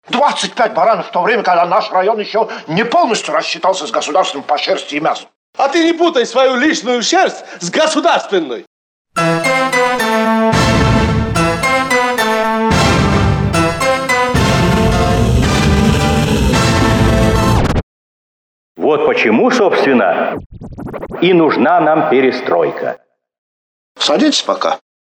25 баранов в то время, когда наш район еще не полностью рассчитался с государством по шерсти и мясу. А ты не путай свою личную шерсть с государственной. Вот почему, собственно, и нужна нам перестройка. Садитесь пока.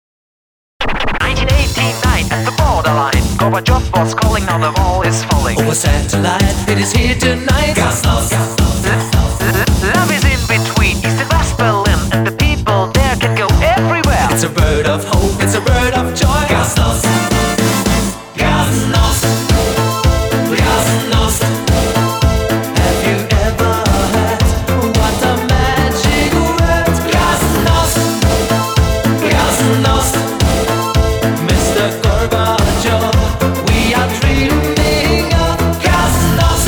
1989 at the borderline. Gorbachev was calling, now the wall is falling. Over satellite, it is here tonight. Glasnost. Love is in between East and West Berlin, and the people there can go everywhere. It's a bird of hope, it's a bird of joy. Glasnost. Glasnost. Glasnost. Have you ever heard what a magic word? Glasnost. Glasnost. Mr. Gorbachev, we are dreaming of Glasnost.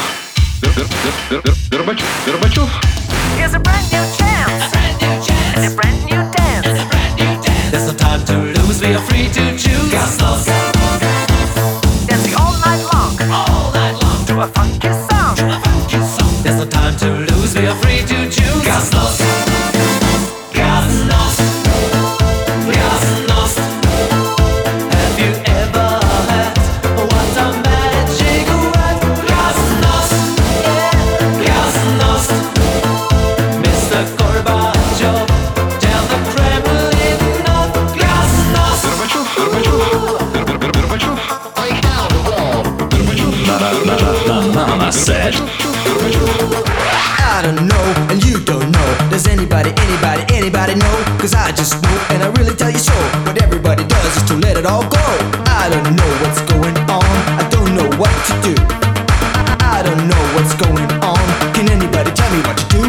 Горбачев. Here's a brand new chance. A brand new chance. And a brand new dance. And a brand new dance. There's no time to lose, we are free to choose. Glasnost. Dancing all night long. All night long. To a funky song. To a funky song. There's no time to lose, we are free to choose. Glasnost. Glasnost. Glasnost. Have you ever heard what a magic word? Glasnost. Glasnost. Mr. Gorbachev, tell the Kremlin of Glasnost. Горбачев. Mama said. I don't know, and you don't know. Does anybody know? Cause I just know, and I really tell you so. What everybody does is to let it all go. I don't know what's going on, I don't know what to do. I don't know what's going on, can anybody tell me what to do?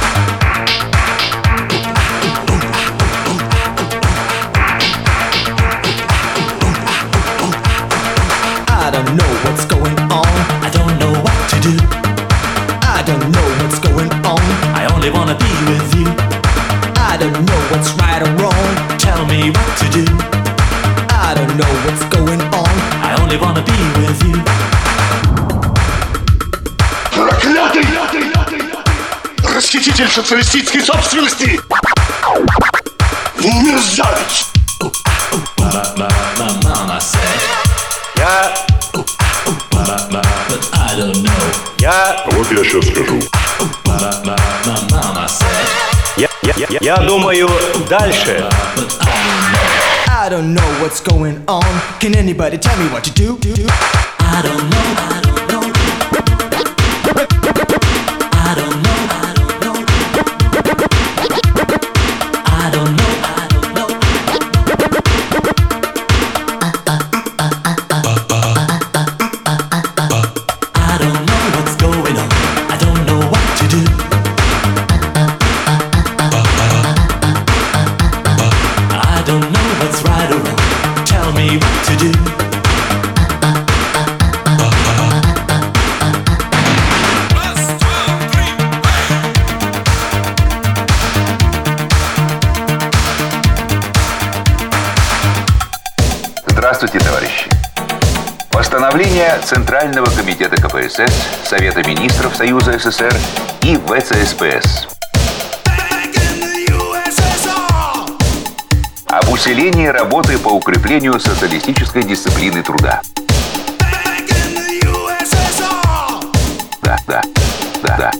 I don't know what's going on, I don't know what to do. I don't know what's going on, I only wanna be with you. I don't know what's right or wrong, Tell me what to do. I don't know what's going on. I only wanna be with you. Проклятый! Расхититель социалистической собственности! Мерзавец! Mama said. But I don't know. Вот я сейчас скажу. Mama said. Я думаю, дальше. But I don't know. I don't know what's going on. Can anybody tell me what to do? I don't know. I don't know. I don't know. I don't know. I don't know. I don't know what's going on. I don't know what to do. I don't know what's right or wrong. Tell me what to do. Здравствуйте, товарищи. Постановление Центрального комитета КПСС, Совета министров Союза СССР и ВЦСПС об усилении работы по укреплению социалистической дисциплины труда. Да.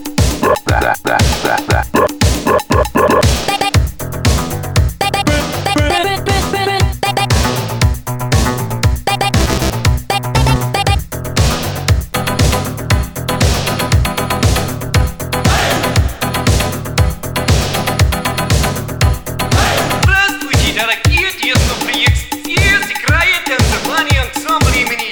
Здравствуйте, дорогие тесноприекс! И сыграет танцевальный ансамбль имени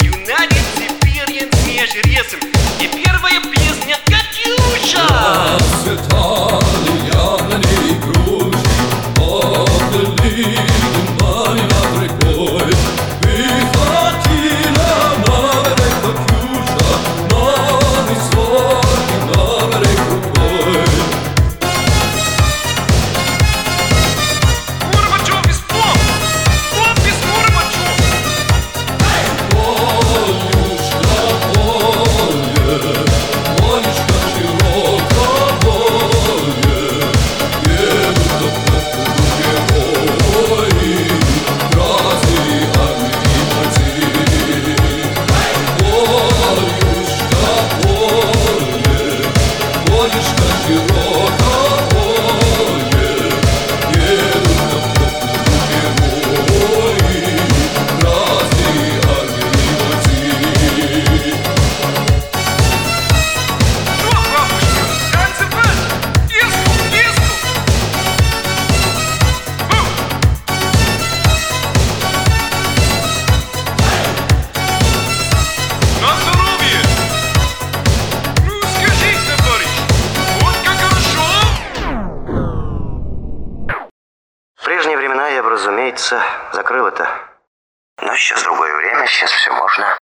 закрыл это. Но сейчас другое время, сейчас все можно.